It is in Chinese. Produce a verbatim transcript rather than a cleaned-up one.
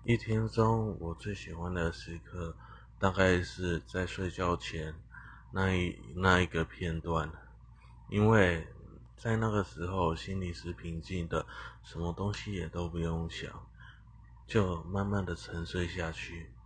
一天中我最喜欢的时刻，大概是在睡觉前那一那一个片段，因为在那个时候心里是平静的，什么东西也都不用想，就慢慢的沉睡下去。